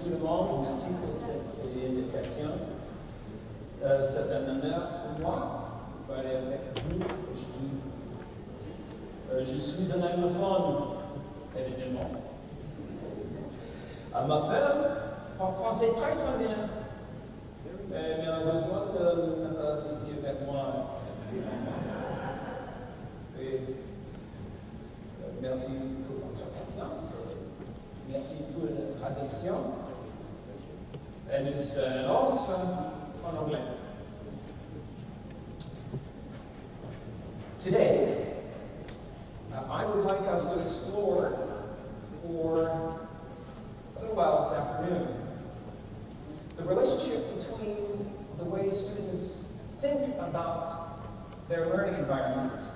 tout le monde, merci pour cette invitation. C'est un honneur pour moi de parler avec vous aujourd'hui. Je suis un anglophone, évidemment. Ma femme parle français très bien, mais malheureusement, elle n'est pas ici avec moi. Et, merci pour votre patience. Merci pour la traduction. Et nous allons en anglais. Today, I would like us to explore for a little while this afternoon the relationship between the way students think about their learning environments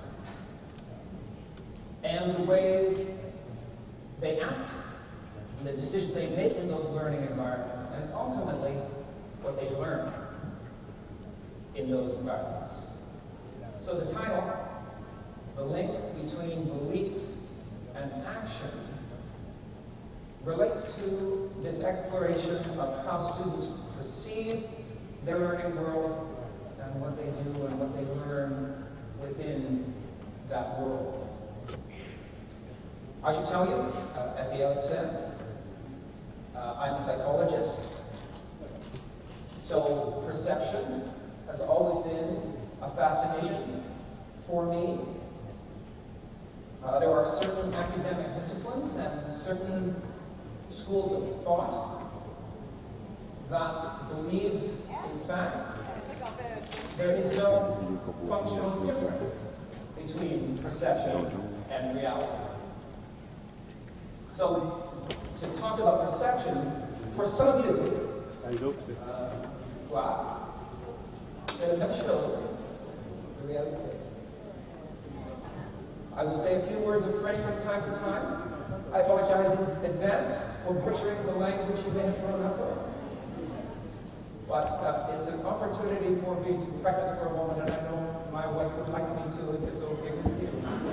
and the way they act, and the decisions they make in those learning environments, and ultimately what they learn in those environments. So the title, The Link Between Beliefs and Action, relates to this exploration of how students perceive their learning world and what they do and what they learn within that world. I should tell you at the outset, I'm a psychologist, so perception has always been a fascination for me. There are certain academic disciplines and certain schools of thought that believe, in fact, there is no functional difference between perception and reality. So, to talk about perceptions, for some of you, wow, that shows the reality. I will say a few words of French from time to time. I apologize in advance for butchering the language you may have grown up with. But it's an opportunity for me to practice for a moment, and I know my wife would like me to if it's okay with you.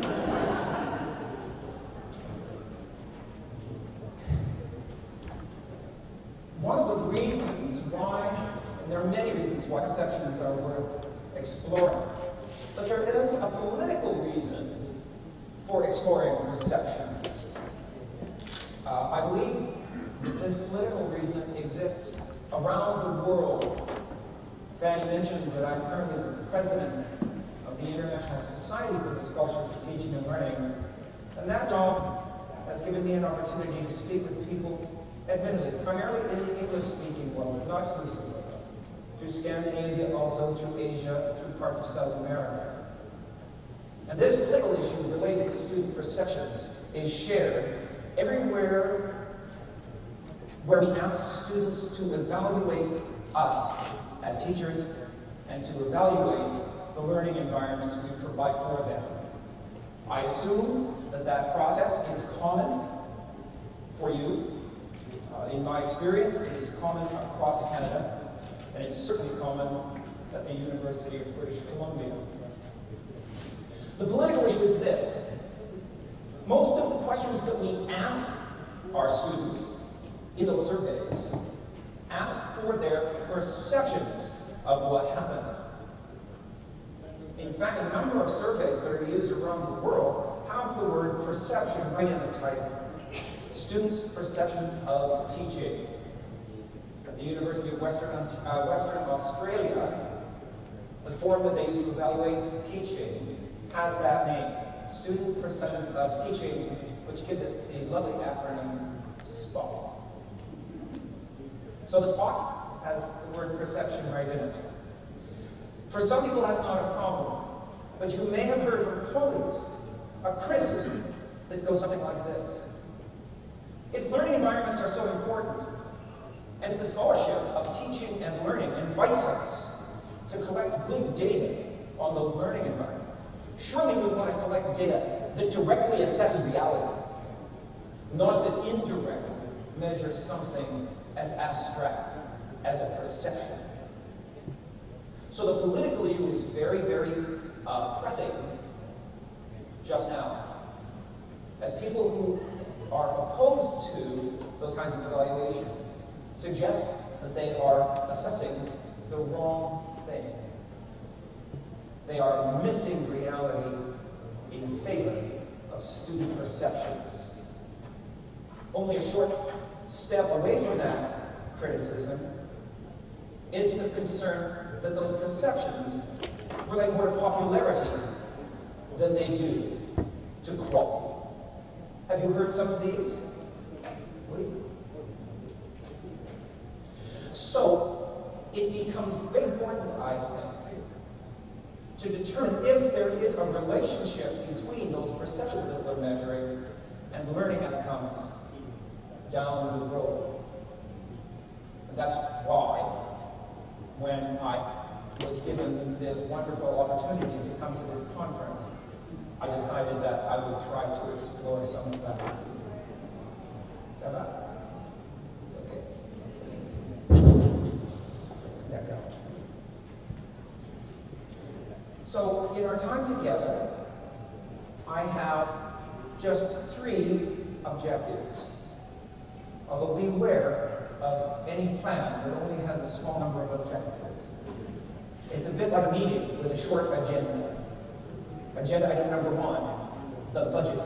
One of the reasons why, and there are many reasons why perceptions are worth exploring, but there is a political reason for exploring perceptions. I believe that this political reason exists around the world. Fanny mentioned that I'm currently the president of the International Society for the Scholarship of Teaching and Learning, and that job has given me an opportunity to speak with people, admittedly, primarily in the English-speaking world, but not exclusively, through Scandinavia, also through Asia, through parts of South America. And this political issue related to student perceptions is shared everywhere where we ask students to evaluate us as teachers and to evaluate the learning environments we provide for them. I assume that that process is common for you. In my experience, it is common across Canada, and it's certainly common at the University of British Columbia. The political issue is this. Most of the questions that we ask our students in those surveys ask for their perceptions of what happened. In fact, a number of surveys that are used around the world have the word perception right in the title. Students' perception of teaching. At the University of Western Australia, the form that they use to evaluate teaching has that name, Student Perceptions of Teaching, which gives it a lovely acronym, SPOT. So the SPOT has the word perception right in it. For some people, that's not a problem, but you may have heard from colleagues a criticism that goes something like this. If learning environments are so important, and if the scholarship of teaching and learning invites us to collect good data on those learning environments, surely we want to collect data that directly assesses reality, not that indirectly measures something as abstract as a perception. So the political issue is very, very pressing just now. As people who are opposed to those kinds of evaluations suggest that they are assessing the wrong thing. They are missing reality in favor of student perceptions. Only a short step away from that criticism is the concern that those perceptions relate more to popularity than they do to quality. Have you heard some of these? So, it becomes very important, I think, to determine if there is a relationship between those perceptions that we're measuring and learning outcomes down the road. And that's why, when I was given this wonderful opportunity to come to this conference, I decided that I would try to explore some of that. Is that right? Okay. There we go. So, in our time together, I have just 3 objectives. Although beware of any plan that only has a small number of objectives. It's a bit like a meeting with a short agenda. Agenda item number 1, the budget.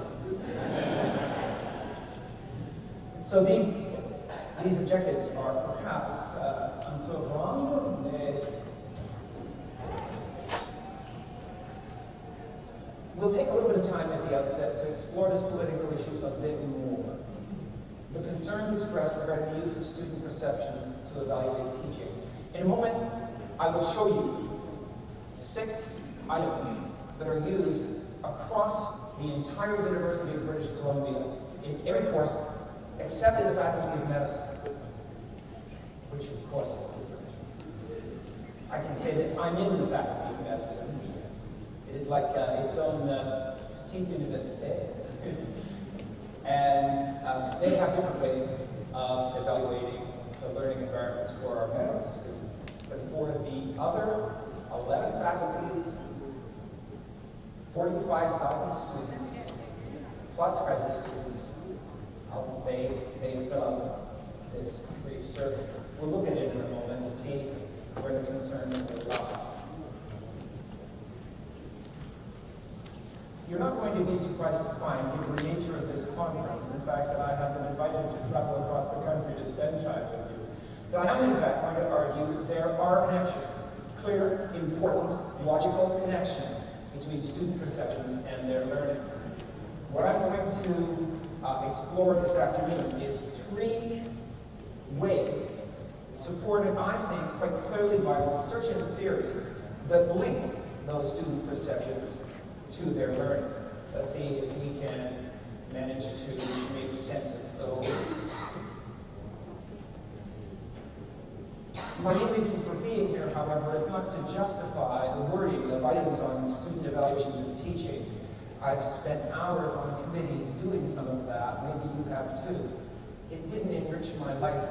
So these objectives are perhaps un peu grandes, mais we'll take a little bit of time at the outset to explore this political issue a bit more. The concerns expressed regarding the use of student perceptions to evaluate teaching. In a moment, I will show you 6 items that are used across the entire University of British Columbia in every course except in the Faculty of Medicine, which of course is different. I can say this, I'm in the Faculty of Medicine. It is like its own petite université. And they have different ways of evaluating the learning environments for our medical students. But for the other 11 faculties, 45,000 students, plus graduate students, they fill out this brief survey. We'll look at it in a moment and see where the concerns lie. You're not going to be surprised to find, given the nature of this conference, in fact, that I have been invited to travel across the country to spend time with you, that I am in fact going to argue there are connections, clear, important, logical connections between student perceptions and their learning. What I'm going to explore this afternoon is 3 ways, supported, I think, quite clearly by research and theory, that link those student perceptions to their learning. Let's see if we can manage to make sense of those. My main reason for being here, however, is not to justify the wording of items on student evaluations of teaching. I've spent hours on committees doing some of that. Maybe you have too. It didn't enrich my life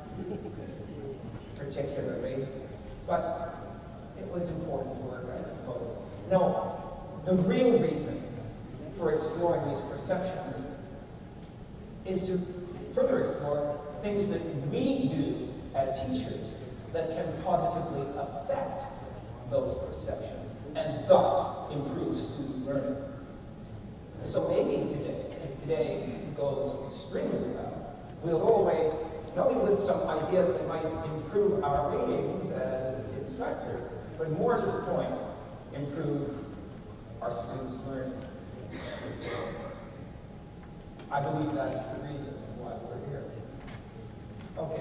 particularly, but it was important work, I suppose. No. The real reason for exploring these perceptions is to further explore things that we do as teachers that can positively affect those perceptions and thus improve student learning. So maybe if today goes extremely well, we'll go away not only with some ideas that might improve our ratings as instructors, but more to the point, improve our students' learning. I believe that's the reason why we're here. Okay.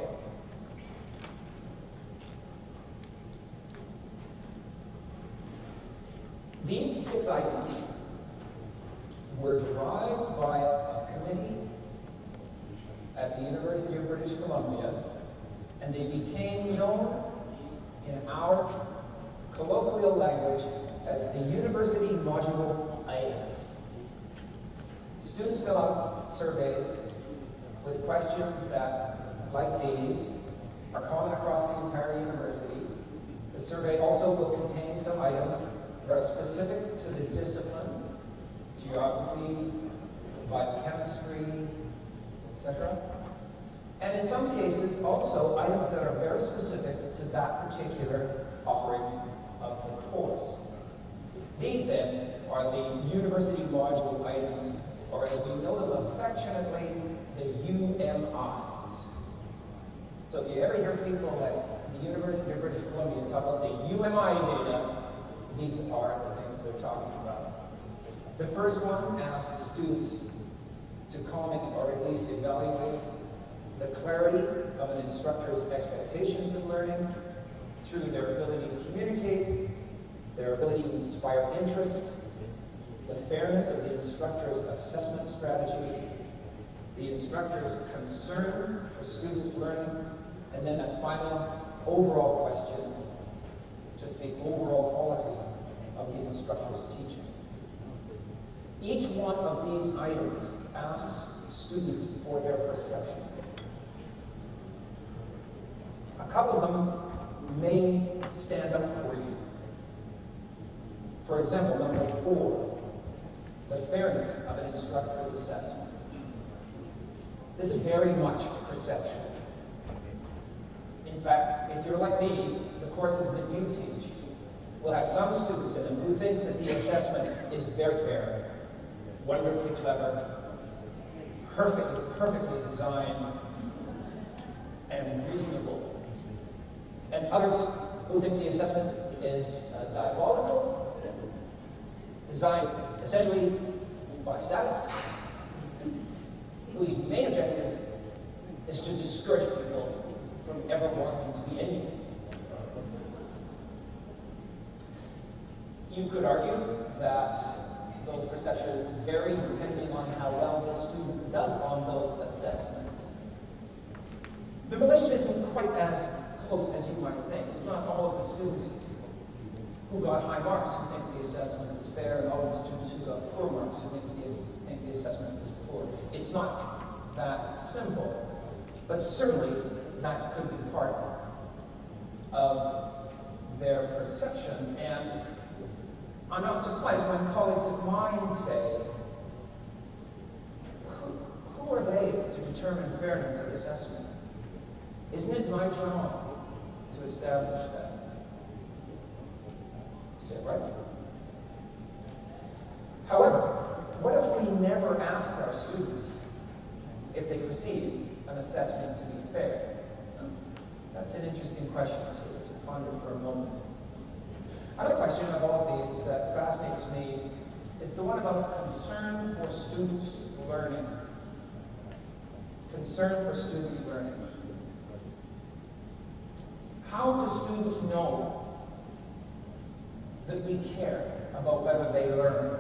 These 6 items were derived by a committee at the University of British Columbia, and they became known in our colloquial language as the University Module Items. Students fill out surveys with questions that, like these, are common across the entire university. The survey also will contain some items that are specific to the discipline, geography, biochemistry, etc. And in some cases, also items that are very specific to that particular offering of the course. These, then, are the university module items, or as we know them affectionately, the UMIs. So if you ever hear people at the University of British Columbia talk about the UMI data, these are the things they're talking about. The first one asks students to comment or at least evaluate the clarity of an instructor's expectations of learning through their ability to communicate, their ability to inspire interest, the fairness of the instructor's assessment strategies, the instructor's concern for students' learning, and then a final overall question, just the overall quality of the instructor's teaching. Each one of these items asks students for their perception. A couple of them may stand up for you. For example, number 4, the fairness of an instructor's assessment. This is very much perception. In fact, if you're like me, the courses that you teach will have some students in them who think that the assessment is very fair, wonderfully clever, perfectly designed, and reasonable. And others who think the assessment is diabolical, designed essentially by sadists, whose main objective is to discourage people from ever wanting to be anything. You could argue that those perceptions vary depending on how well the student does on those assessments. The relation isn't quite as close as you might think. It's not all of the students who got high marks who think the assessment is fair, and all of the students who got poor marks who think the assessment is poor. It's not that simple, but certainly that could be part of their perception. And I'm not surprised when colleagues of mine say, who are they to determine fairness of assessment? Isn't it my job to establish that? Say it right. However, what if we never ask our students if they perceive an assessment to be fair? That's an interesting question to ponder for a moment. Another question of all of these that fascinates me is the one about concern for students' learning. Concern for students' learning. How do students know that we care about whether they learn?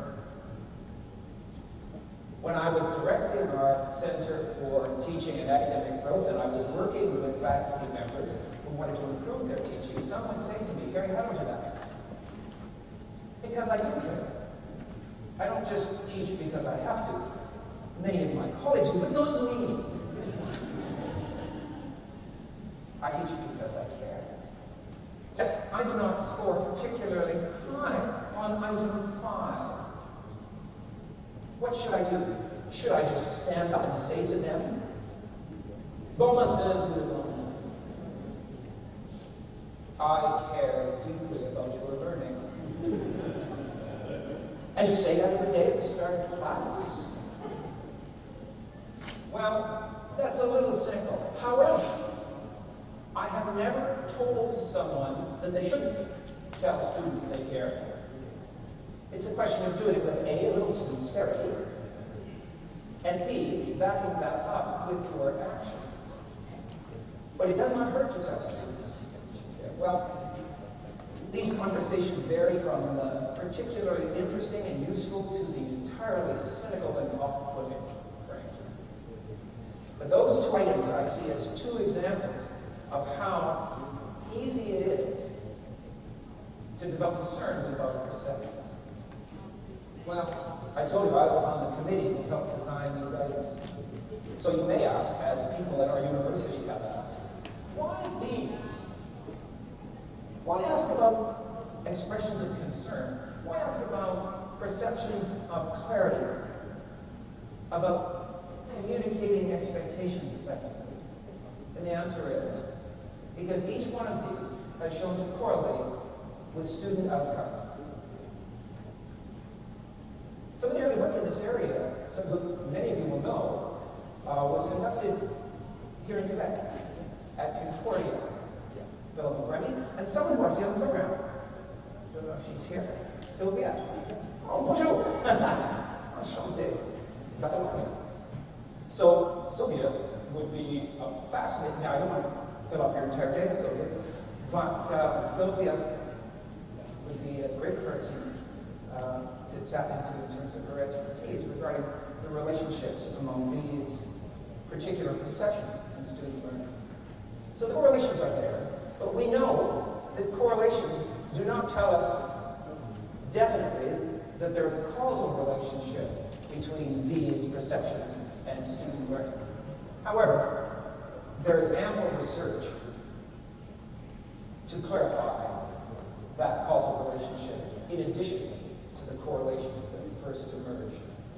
When I was directing our Center for Teaching and Academic Growth, and I was working with faculty members who wanted to improve their teaching, someone would say to me, "Gary, how do you do that?" Because I do care. I don't just teach because I have to. Many of my colleagues do, but not me. I teach because I care. Yet I do not score particularly high on item 5. What should I do? Should I just stand up and say to them, "Bon matin, tout le monde. I care deeply about your learning," and say that every day at the start of class? Well, that's a little cynical. However, I have never told someone that they shouldn't tell students they care. It's a question of doing it with A, a little sincerity, and B, backing that up with your actions. But it does not hurt to tell students. Well, these conversations vary from particularly interesting and useful to the entirely cynical and off-putting, frankly. But those 2 items I see as 2 examples of how easy it is to develop concerns about perceptions. Well, I told you I was on the committee that helped design these items. So you may ask, as people at our university have asked, why these? Why ask about expressions of concern? Why ask about perceptions of clarity? About communicating expectations effectively? And the answer is, because each one of these has shown to correlate with student outcomes. Some of the early work in this area, many of you will know, was conducted here in Quebec at Concordia. Philip McRemy, and someone who I see on the program. I don't know if she's here. Sylvia. Oh, bonjour. Enchanté. So, Sylvia would be a fascinating, now I don't want to fill up your entire day, Sylvia, but Sylvia would be a great person to tap into in terms of her expertise regarding the relationships among these particular perceptions in student learning. So the correlations are there, but we know that correlations do not tell us definitely that there's a causal relationship between these perceptions and student learning. However, there is ample research to clarify that causal relationship in addition to the correlations that first emerged.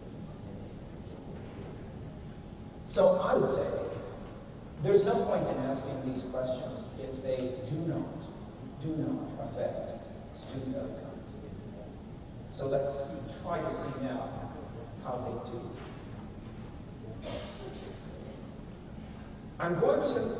So I would say there's no point in asking these questions if they do not affect student outcomes. So let's try to see now how they do. I'm going to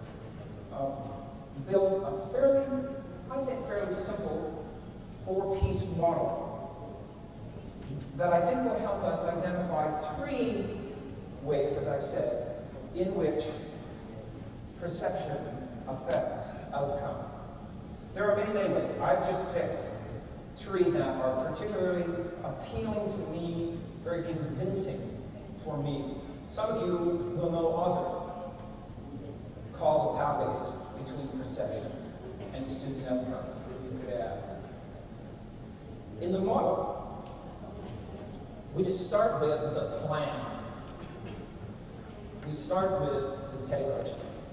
build a fairly simple four-piece model that I think will help us identify three ways, as I've said, in which perception affects outcome. There are many, many ways. I've just picked three that are particularly appealing to me, very convincing for me. Some of you will know other causal pathways between perception and student outcome that you could add. In the model, we just start with the plan. We start with the pedagogy.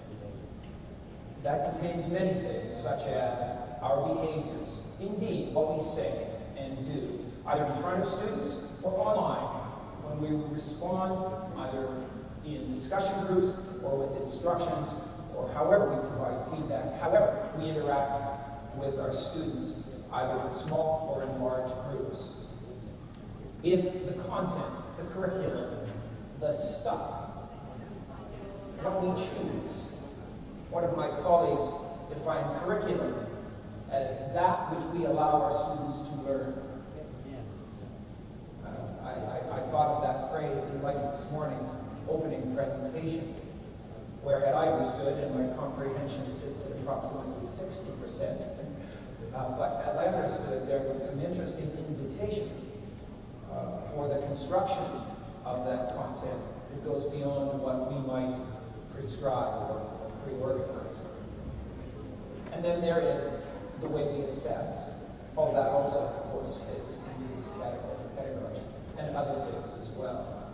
That contains many things, such as our behaviors, indeed, what we say and do, either in front of students or online, when we respond either in discussion groups or with instructions, or however we provide feedback, however we interact with our students, either in small or in large groups. Is the content, the curriculum, the stuff, what we choose. One of my colleagues defined curriculum as that which we allow our students to learn. I thought of that phrase in light of this morning's opening presentation, where, as I understood, and my comprehension sits at approximately 60%, but as I understood, there were some interesting invitations for the construction of that content that goes beyond what we might prescribe or pre-organize. And then there is the way we assess. All that also, of course, fits into this category of pedagogy, and other things as well.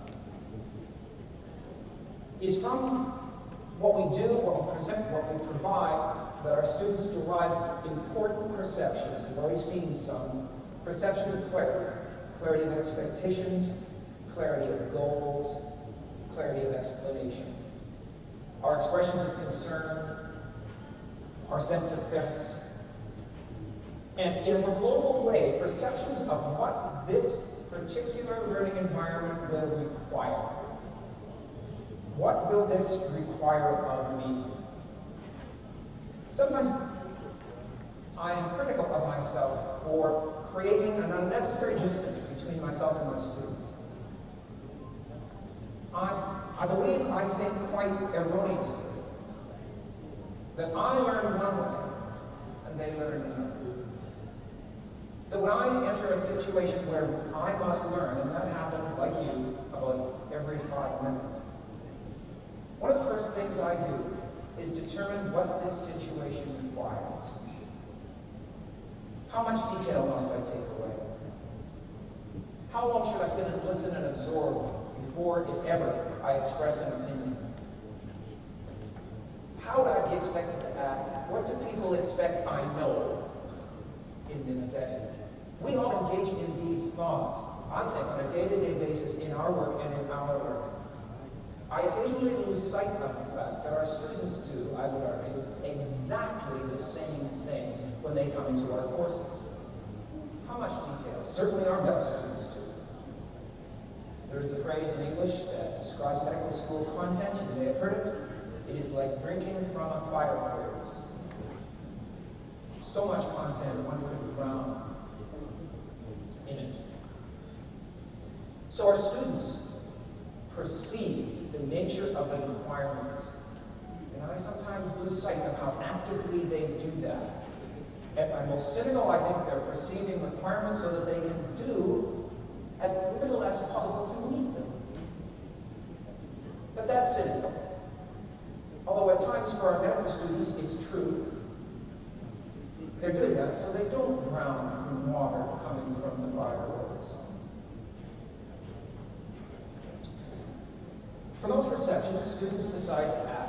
It's from what we do, what we present, what we provide, that our students derive important perceptions. We've already seen some perceptions of clarity. Clarity of expectations, clarity of goals, clarity of explanation. Our expressions of concern, our sense of fairness, and in a more global way, perceptions of what this particular learning environment will require. What will this require of me? Sometimes I am critical of myself for creating an unnecessary distance between myself and my students. I think quite erroneously that I learn one way and they learn another. That when I enter a situation where I must learn, and that happens, like you, about every 5 minutes, one of the first things I do is determine what this situation requires. How much detail must I take away? How long should I sit and listen and absorb before, if ever, I express an opinion? How would I be expected to act? What do people expect I know in this setting? We all engage in these thoughts, I think, on a day-to-day basis in our work and in our learning. I occasionally lose sight of the fact that our students do, I would argue, exactly the same thing when they come into our courses. How much detail? Certainly our best students do. There is a phrase in English that describes medical school content. You may have heard it. It is like drinking from a fire hose. So much content, one could drown in it. So our students perceive the nature of the requirements. And I sometimes lose sight of how actively they do that. At my most cynical, I think they're perceiving requirements so that they can do as little as possible to meet them. But that's cynical. Although at times for our medical students, it's true. They're doing that so they don't drown from water coming from the fire hose. From those perceptions, students decide to act.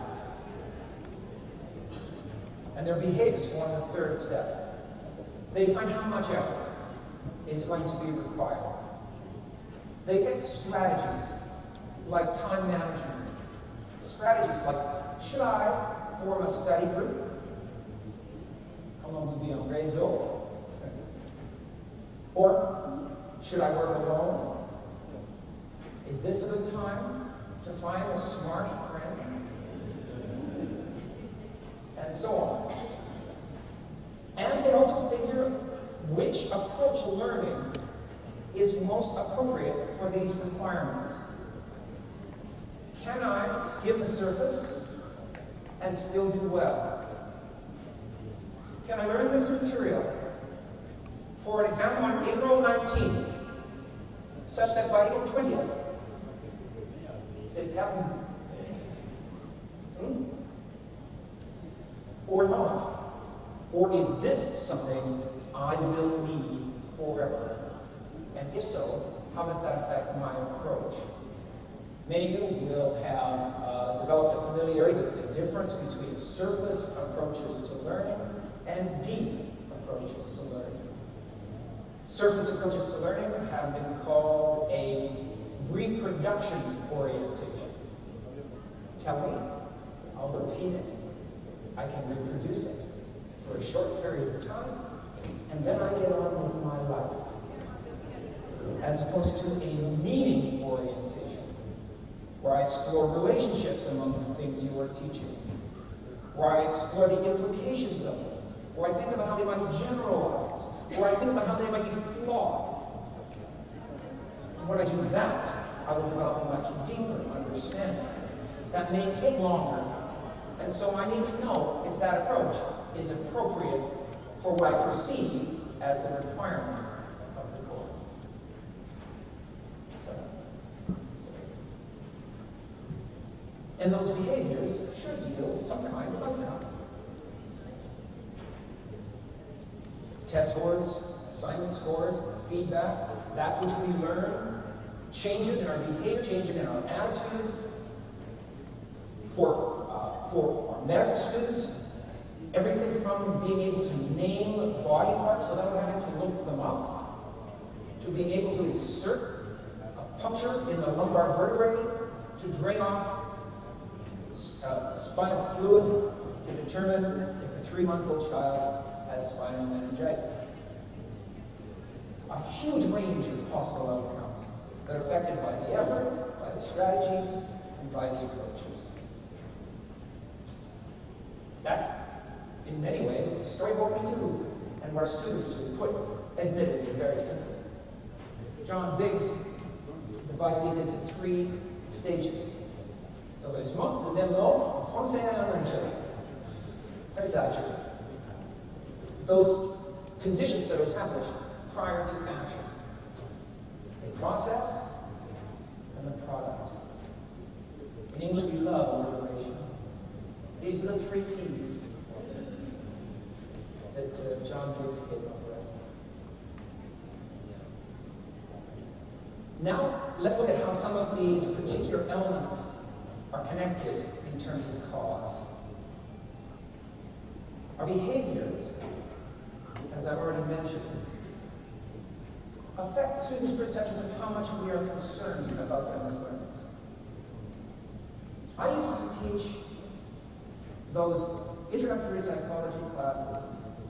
And their behaviors form the third step. They decide how much effort is going to be required. They get strategies like time management. Strategies like, should I form a study group? Comment vous dit en réseau? Or, should I work alone? Is this a good time to find a smart friend? And so on. And they also figure which approach to learning is most appropriate for these requirements. Can I skim the surface and still do well? Can I learn this material for an exam on April 19th, such that by April 20th, c'est terminé? Or not? Or is this something I will need forever? And if so, how does that affect my approach? Many of you will have developed a familiarity with the difference between surface approaches to learning and deep approaches to learning. Surface approaches to learning have been called a reproduction orientation. Tell me, I'll repeat it. I can reproduce it for a short period of time, and then I get on with my life. As opposed to a meaning orientation, where I explore relationships among the things you are teaching, where I explore the implications of them, where I think about how they might generalize, where I think about how they might be flawed. When I do that, I will develop a much deeper understanding. That may take longer, and so I need to know if that approach is appropriate for what I perceive as the requirements of the course. And those behaviors should yield some kind of outcome. Test scores, assignment scores, feedback, that which we learn, changes in our behavior, changes in our attitudes. For our medical students, everything from being able to name body parts without having to look them up, to being able to insert a puncture in the lumbar vertebrae, to drain off spinal fluid to determine if a 3-month-old child has spinal meningitis. A huge range of possible outcomes that are affected by the effort, by the strategies, and by the approaches. That's, in many ways, the story of what we do, and what our students do, put admittedly very simply. John Biggs divides these into 3 stages. Heureusement, le même nom en français et en anglais. Paysage. Those conditions that are established prior to action. The process and the product. In English, we love alliteration. These are the 3 P's that John Biggs came up with. Now, let's look at how some of these particular elements are connected in terms of cause. Our behaviors, as I've already mentioned, affect students' perceptions of how much we are concerned about them as learners. I used to teach those introductory psychology classes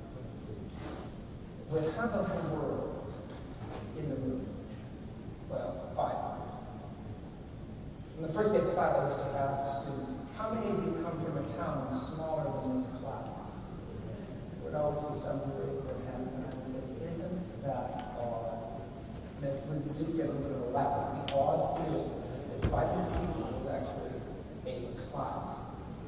with half of the world in the room. Well, 5. In the first day of class, I used to ask students, how many of you come from a town smaller than this class? There would always be some who raise their hands, and I would say, isn't that odd? And if we would just get a little bit of a laugh at the odd feeling that 500 people was actually a class.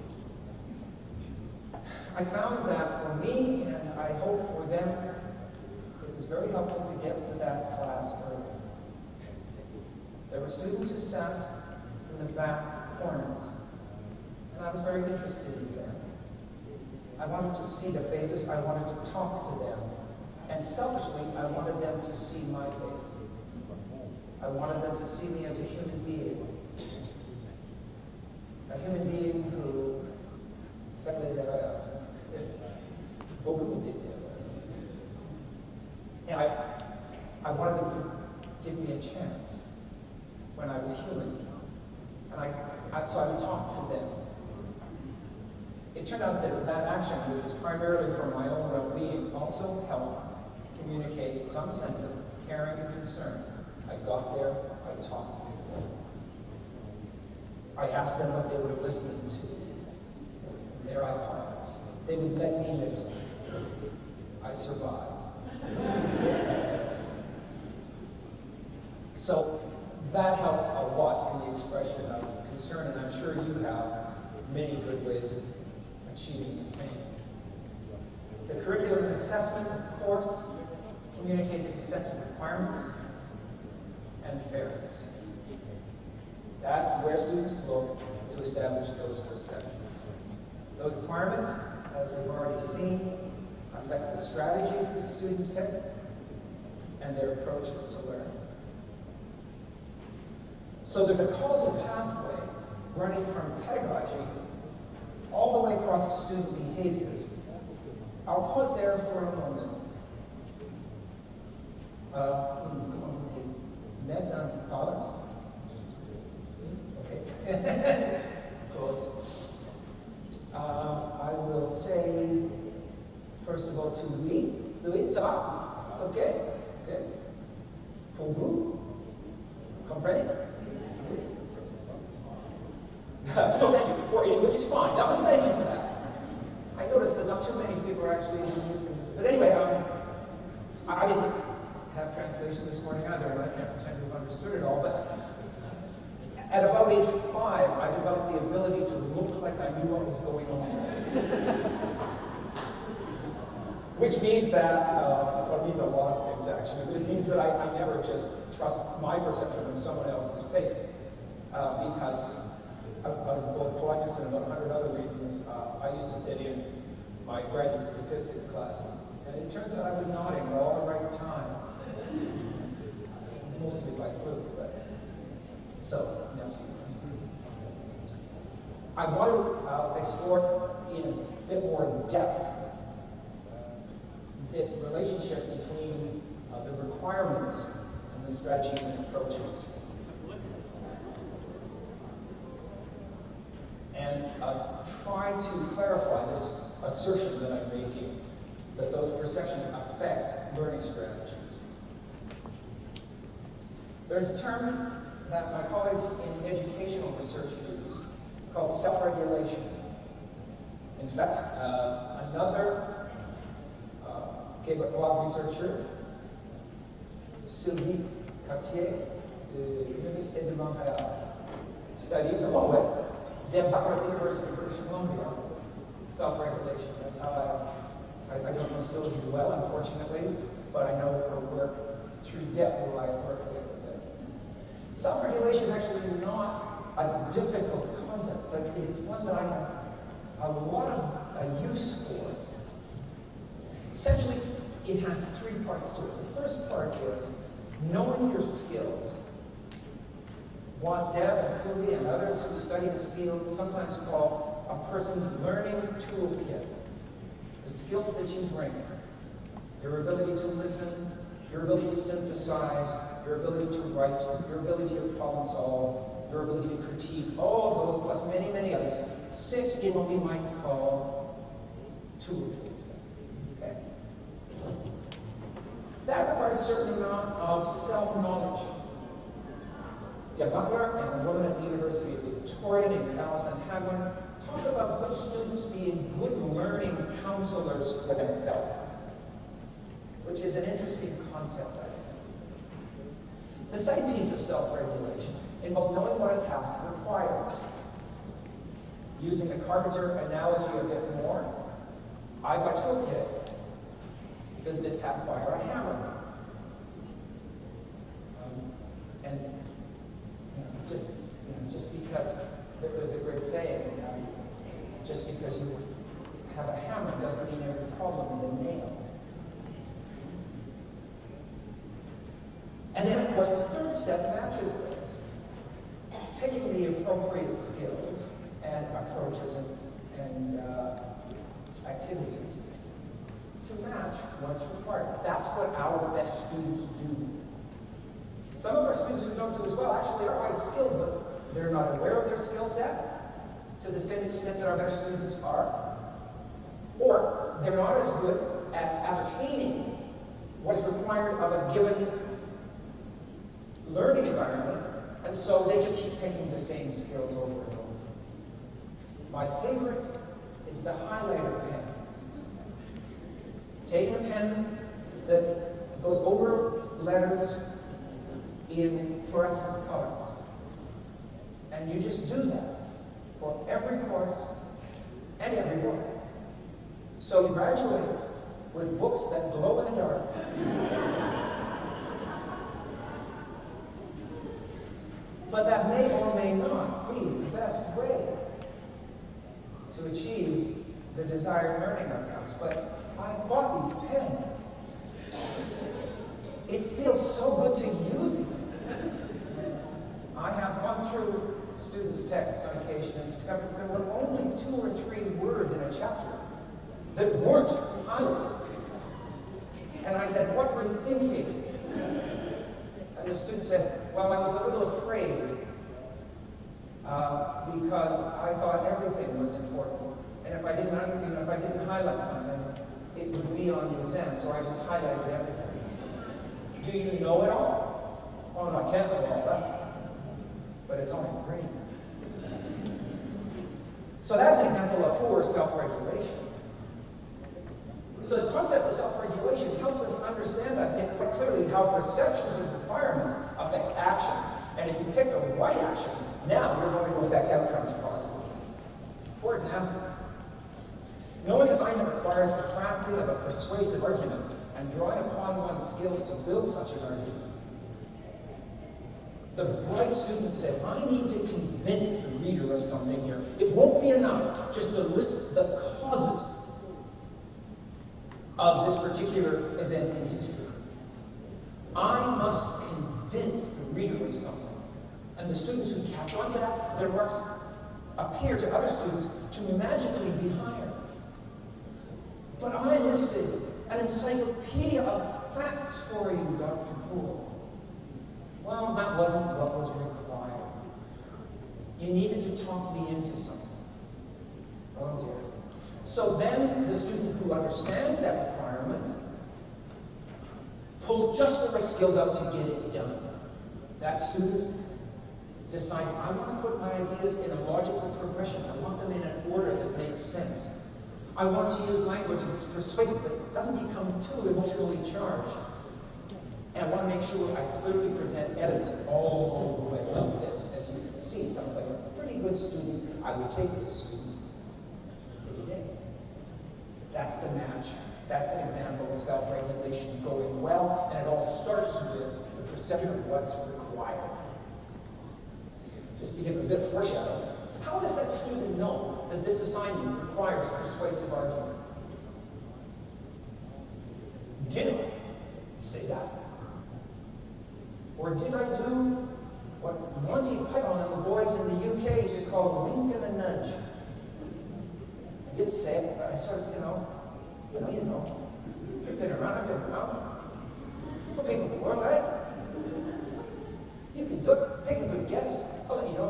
I found that for me, and I hope for them, it was very helpful to get to that class early. There were students who sat in the back corners, and I was very interested in them. I wanted to see their faces, I wanted to talk to them, and selfishly, I wanted them to see my face. I wanted them to see me as a human being who fait les erreurs. Beaucoup des erreurs. And I wanted them to give me a chance when I was human. And so I would talk to them. It turned out that that action, which was primarily for my own well-being, also helped communicate some sense of caring and concern. I got there, I talked to them. I asked them what they were listening to. Their iPods. They would let me listen. I survived. So that helped a lot in the expression of concern, and I'm sure you have many good ways of achieving the same. The curriculum assessment, of course, communicates a sense of requirements and fairness. That's where students look to establish those perceptions. Those requirements, as we've already seen, affect the strategies that students pick and their approaches to learning. So there's a causal pathway running from pedagogy all the way across to student behaviors. I'll pause there for a moment. Pause. Okay. Close. I will say, first of all, to Louis. Louis, ça va? C'est okay? Okay. Pour vous? Comprenez? So thank you. Or English is fine. That was thank you for that. I noticed that not too many people are actually using it. But anyway, I didn't have translation this morning either, and I can't pretend to have understood it all, but at about age 5, I developed the ability to look like I knew what was going on. Which means that, well, it means a lot of things actually, but it means that I never just trust my perception of someone else's face. Because of both politeness and about 100 other reasons, I used to sit in my graduate statistics classes, and it turns out I was nodding at all the right times. Mostly by fluke, but so, yes. I want to explore in a bit more depth this relationship between the requirements and the strategies and approaches. And try to clarify this assertion that I'm making, that those perceptions affect learning strategies. There's a term that my colleagues in educational research use called self-regulation. In fact, another Québécois researcher, Sylvie Cartier, de l'Université de Montréal, studies, along with Deb Butler at the University of British Columbia, self-regulation. That's how I don't know Sylvie well, unfortunately, but I know her work through Deb, who I work with. Self-regulation is actually not a difficult concept, but it is one that I have a lot of use for. Essentially, it has 3 parts to it. The first part is knowing your skills. What Deb and Sylvie and others who study this field sometimes call a person's learning toolkit. The skills that you bring. Your ability to listen, your ability to synthesize, your ability to write, your ability to problem solve, your ability to critique, all of those, plus many, many others, sit in what we might call tool tools. Okay? That requires a certain amount of self-knowledge. Deb Butler and the woman at the University of Victoria named Alison Hadwin talk about good students being good learning counselors for themselves, which is an interesting concept, I think. The second piece of self-regulation involves knowing what a task requires. Using the carpenter analogy a bit more, I've got a toolkit. Does this task require a hammer? And just because there's a great saying, just because you have a hammer doesn't mean every problem is a nail. And then, of course, the third step matches those. Picking the appropriate skills and approaches and activities to match what's required. That's what our best students do. Some of our students who don't do as well actually are quite skilled, but they're not aware of their skill set to the same extent that our best students are. Or they're not as good at ascertaining what's required of a given learning environment, and so they just keep picking the same skills over and over. My favorite is the highlighter pen. Taking a pen that goes over letters in fluorescent colors. And you just do that for every course and every book. So you graduate with books that glow in the dark. But that may or may not be the best way to achieve the desired learning outcomes. But I bought these pens. It feels so good to use them. I have gone through students' texts on occasion and discovered there were only 2 or 3 words in a chapter that weren't highlighted. And I said, what were you thinking? And the student said, well, I was a little afraid because I thought everything was important. And if I didn't highlight something, it would be on the exam, so I just highlighted everything. Do you know it all? Oh, no, I can't know all that. But it's only green. So that's an example of poor self-regulation. So the concept of self-regulation helps us understand, I think, quite clearly how perceptions of requirements affect action. And if you pick the right action, now you're going to affect outcomes positively. For example, knowing assignment requires the crafting of a persuasive argument and drawing upon one's skills to build such an argument. The bright student says, I need to convince the reader of something here. It won't be enough just to list the causes of this particular event in history. I must convince the reader of something. And the students who catch on to that, their marks appear to other students to magically be higher. But I listed an encyclopedia of facts for you, Dr. Poole. Well, that wasn't what was required. You needed to talk me into something. Oh dear. So then the student who understands that requirement pulls just the right skills out to get it done. That student decides, I want to put my ideas in a logical progression. I want them in an order that makes sense. I want to use language that's persuasive, but doesn't become too emotionally charged. And I want to make sure I clearly present evidence all the way up. This, as you can see, sounds like a pretty good student. I would take this student any day. That's the match. That's an example of self-regulation going well, and it all starts with the perception of what's required. Just to give a bit of foreshadow, how does that student know that this assignment requires persuasive argument? Did I say that? Or did I do what Monty Python and the boys in the UK used to call a wink and a nudge? I didn't say it, but I sort of, you know. You've been around, I've been around. We're people in the world, right? You can do it. Take a good guess. I'll let you know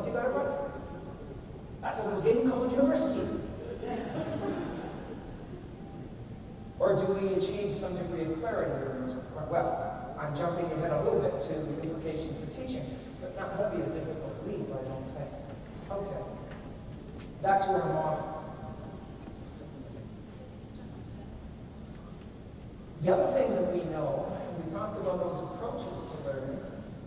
some degree of clarity during this report. Well, I'm jumping ahead a little bit to the implications for teaching, but that won't be a difficult leap, I don't think. Okay. Back to our model. The other thing that we know, and we talked about those approaches to learning.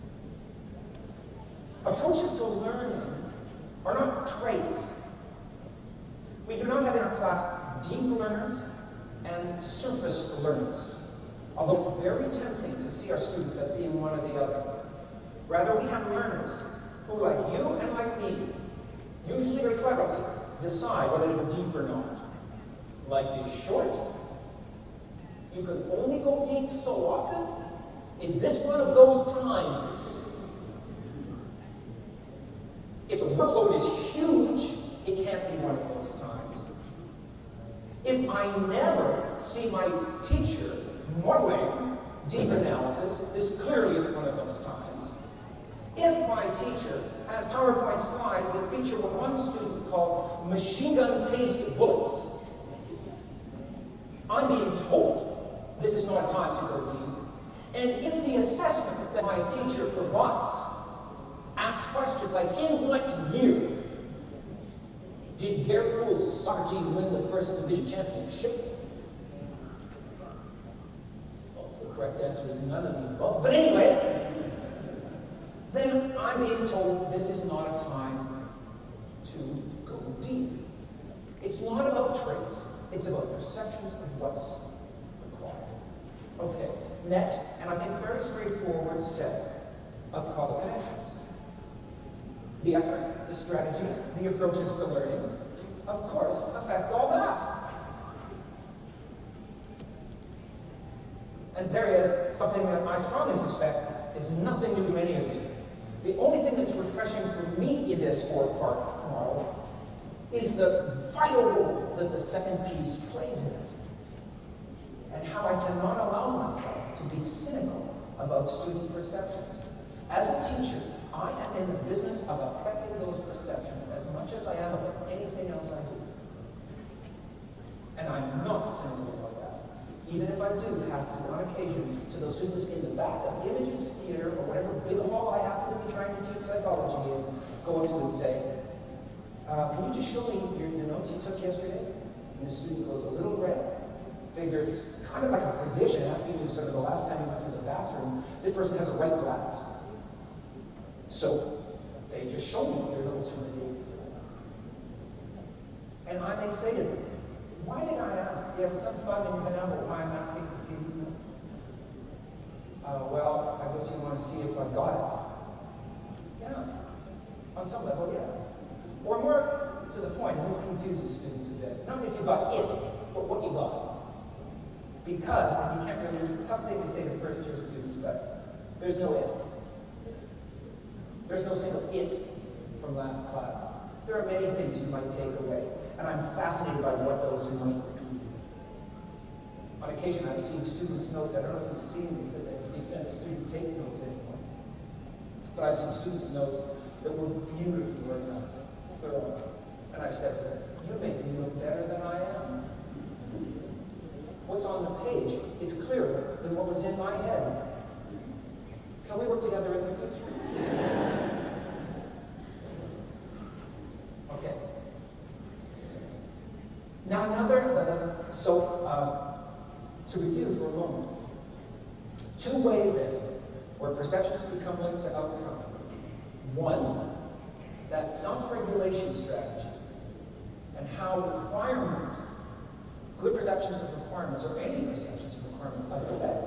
Approaches to learning are not traits. We do not have in our class deep learners and surface learners, although it's very tempting to see our students as being one or the other. Rather, we have learners who, like you and like me, usually very cleverly, decide whether to go deep or not. Life is short. You can only go deep so often. Is this one of those times? If the workload is huge, it can't be one of those times. If I never see my teacher modeling deep analysis, this clearly isn't one of those times. If my teacher has PowerPoint slides that feature what one student called machine gun paced bullets, I'm being told this is not a time to go deep. And if the assessments that my teacher provides ask questions like, in what year did Gare Poole's soccer team win the first division championship? Well, the correct answer is none of the above. But anyway, then I'm being told this is not a time to go deep. It's not about traits. It's about perceptions of what's required. Okay, next, and I think very straightforward set of causal connections. The effort, the strategies, the approaches to learning, of course, affect all that. And there is something that I strongly suspect is nothing new to any of you. The only thing that's refreshing for me in this four-part model is the vital role that the second piece plays in it, and how I cannot allow myself to be cynical about student perceptions. As a teacher, I am in the business of affecting those perceptions as much as I am about anything else I do. And I'm not cynical about that. Even if I do have to, on occasion, to those students in the back of Images Theater or whatever big hall I happen to be trying to teach psychology in, go up to and say, can you just show me the notes you took yesterday? And the student goes a little red. Figures, kind of like a physician asking you sort of the last time you went to the bathroom, this person has a right glass. So they just show me their notes from the day before. And I may say to them, why did I ask? Do you have some fun in your about why I'm asking to see these notes? Well, I guess you want to see if I got it. Yeah, on some level, yes. Or more to the point, and this confuses students a bit, not if you got it, but what you got. Because, and you can't really, it's a tough thing to say to first-year students, but there's no it. There's no single it from last class. There are many things you might take away, and I'm fascinated by what those might be. On occasion, I've seen students' notes. I don't know if you've seen these, to the extent that students take notes anymore. But I've seen students' notes that were beautifully organized, thorough. And I've said to them, you make me look better than I am. What's on the page is clearer than what was in my head. Can we work together in the future? Okay. Now to review for a moment. Two ways then where perceptions become linked to outcome. One, that self-regulation strategy and how requirements, good perceptions of requirements, or any perceptions of requirements, affect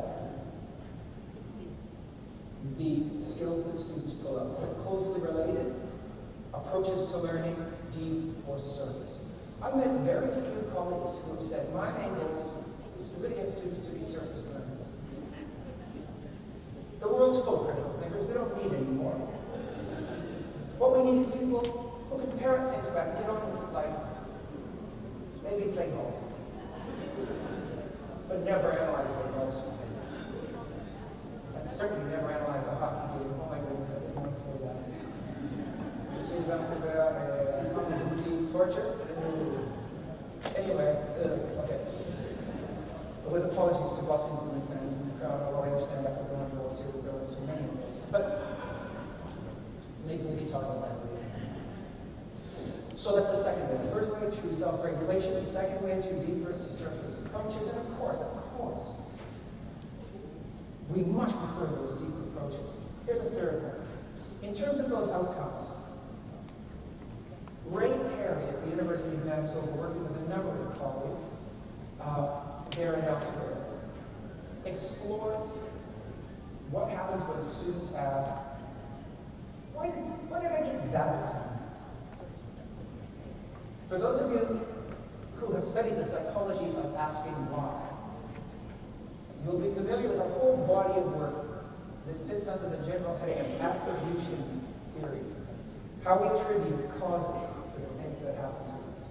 the skills that students pull up. They're closely related. Approaches to learning, deep or surface. I've met very few colleagues who have said, my main goal is to really get students to be surface learners. The world's full of critical thinkers. We don't need any more. What we need is people who can parrot things back, like maybe play golf, but never analyze their golf swing. And certainly never analyze a hockey game. Oh my goodness, I didn't want to say that. You see torture? Anyway, okay. with apologies to Boston Bruins fans in the crowd, although I understand after the Montreal series there were so many of those. But maybe we can talk about that later. So that's the second way. The first way through self-regulation, the second way through deep versus surface approaches, and of course, we much prefer those deep approaches. Here's a third one. In terms of those outcomes, Ray Perry at the University of Manitoba, working with a number of colleagues there and elsewhere, explores what happens when students ask, why did I get that outcome? For those of you who have studied the psychology of asking why, you'll be familiar with a whole body of work that fits under the general heading of attribution theory. How we attribute causes to the things that happen to us.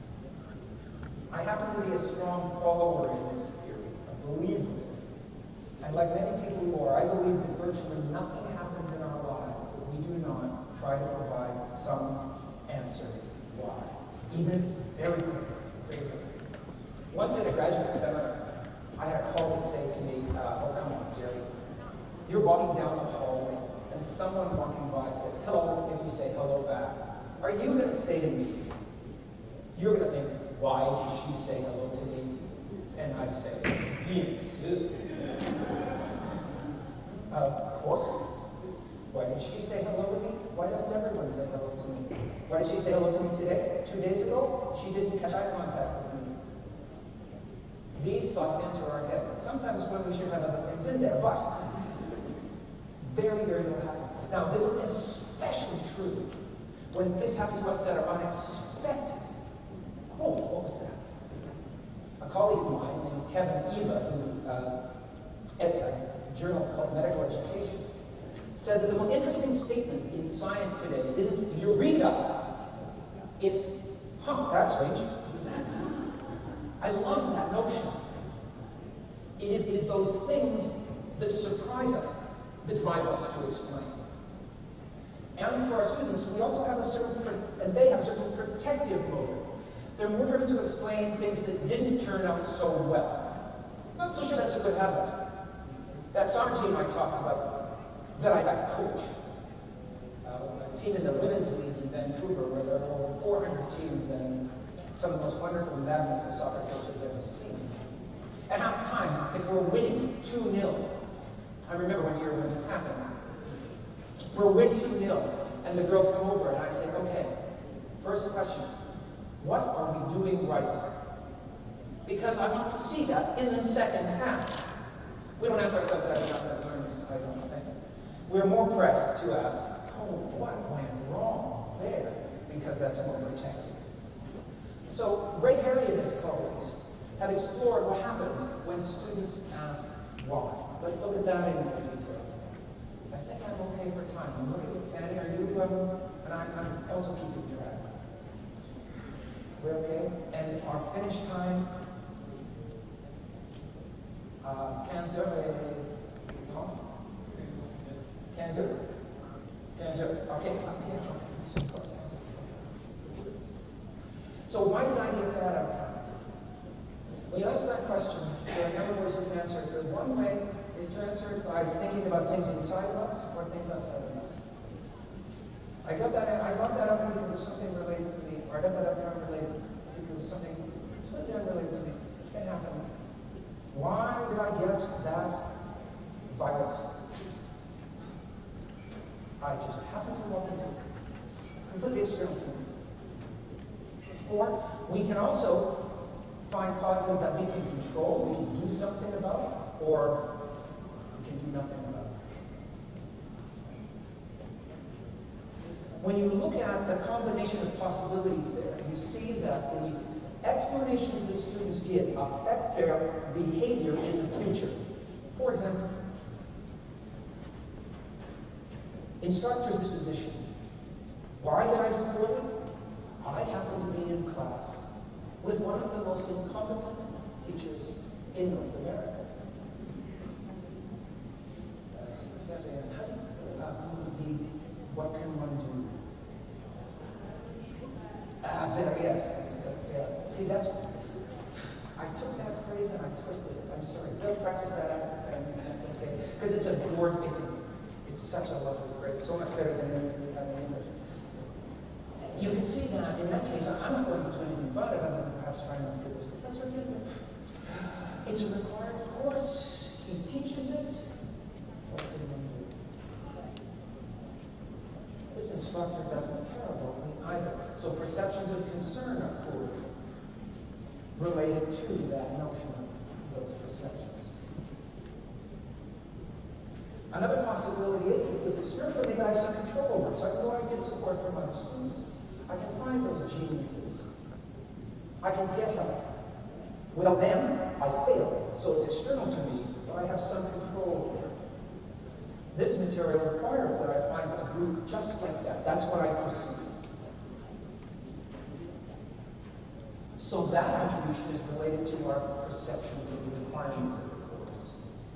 I happen to be a strong follower in this theory, a believer in it. And like many people who are, I believe that virtually nothing happens in our lives that we do not try to provide some answer why. Even if it's very quick. Once in a graduate seminar, I had a colleague say to me, oh, come on, Gary. You're walking down the hallway, and someone walking by says, hello, and you say hello back. Are you going to say to me, you're going to think, why did she say hello to me? And I say, yes. Of course. Why did she say hello to me? Why doesn't everyone say hello to me? Why did she say hello to me today? 2 days ago, she didn't catch eye contact with me. These thoughts enter our heads, sometimes when we should have other things in there, but very, very little happens. Now, this is especially true when things happen to us that are unexpected. Oh, what was that? A colleague of mine named Kevin Eva, who edits a journal called Medical Education, said that the most interesting statement in science today isn't eureka, it's, that's strange. I love that notion. It is those things that surprise us that drive us to explain. And for our students, we also have a certain, and they have a certain protective motive. They're more driven to explain things that didn't turn out so well. Not so sure that's a good habit. That soccer team I talked about, that I got coached, a team in the women's league in Vancouver where there are over 400 teams and some of the most wonderful madness the soccer coach has ever seen. At half time, if we're winning 2-0, I remember one year when this happened. We're winning 2-0, and the girls come over and I say, okay, first question, what are we doing right? Because I want to see that in the second half. We don't ask ourselves that enough as learners, I don't think. We're more pressed to ask, oh, what went wrong there? Because that's more protected. So Ray Perry and his colleagues have explored what happens when students ask why. Let's look at that in more detail. I think I'm okay for time. I'm looking at Fanny. Are you, and I'm also keeping track. We're okay? And our finish time, Cancer. Okay. So why did I get that outcome? When you ask that question, there are a number of ways you can answer it. One way is to answer it by thinking about things inside of us or things outside of us. I got that outcome because of something related to me, or I got that outcome related because of something completely unrelated to me. It can happen. Why did I get that virus? I just happened to walk into it. Completely experimental. Or we can also find causes that we can control, we can do something about, or we can do nothing about. When you look at the combination of possibilities there, you see that the explanations that students give affect their behavior in the future. For example, instructor's disposition. Why did I do poorly? I happen to be in class with one of the most incompetent teachers in North America. What can one do? Better, yes. See, I took that phrase and I twisted it. because it's a board, it's such a lovely phrase, so much better than anything we have in English. You can see that in that case, I'm not going to do anything about it other than perhaps trying not to get this professor to do it. It's a required course. He teaches it. What can we do? This instructor doesn't care about me either. So perceptions of concern are poor, related to that notion of those perceptions. Another possibility is that with externally that I have some control over. So I can go out and get support from other students. I can find those geniuses. I can get help. Without them, I fail. So it's external to me, but I have some control over it. This material requires that I find a group just like that. That's what I perceive. So that attribution is related to our perceptions of the requirements of the course.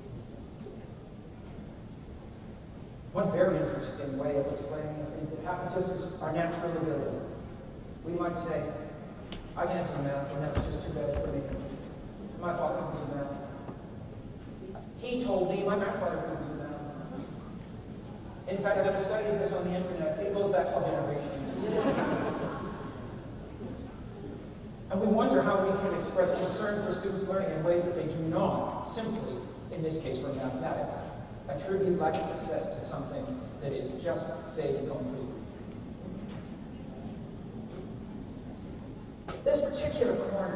One very interesting way of explaining the things that happen to us is our natural ability. We might say, I can't do math, and that's just too bad for me. My father couldn't do math. He told me my grandfather couldn't do math. In fact, I've ever studied this on the internet. It goes back 12 generations. And we wonder how we can express concern for students learning in ways that they do not simply, in this case for mathematics, attribute lack of success to something that is just fait accompli. This particular corner,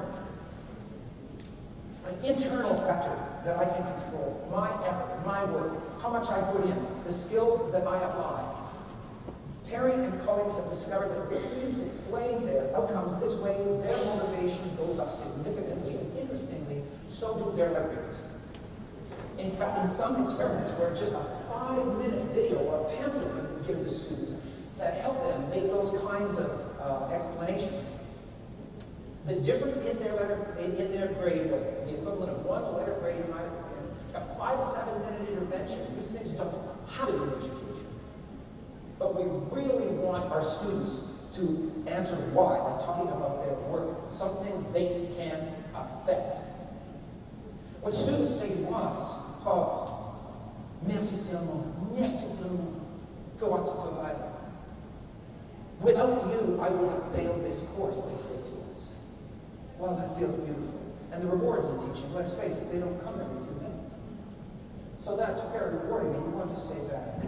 an internal factor that I can control, my effort, my work, how much I put in, the skills that I apply. Perry and colleagues have discovered that if students explain their outcomes this way, their motivation goes up significantly, and interestingly, so do their learning rates. In fact, in some experiments where just a 5-minute video or pamphlet we give to students that help them make those kinds of explanations, the difference in their grade was the equivalent of 1 letter grade in a 5 to 7 minute intervention. These things don't have it in education. But we really want our students to answer why by talking about their work, something they can affect. When students say to us, oh, merci tellement, go out to travail. Without you, I would have failed this course, they say to us. Well, that feels beautiful. And the rewards in teaching, let's face it, they don't come every few minutes. So that's very rewarding, and you want to say that,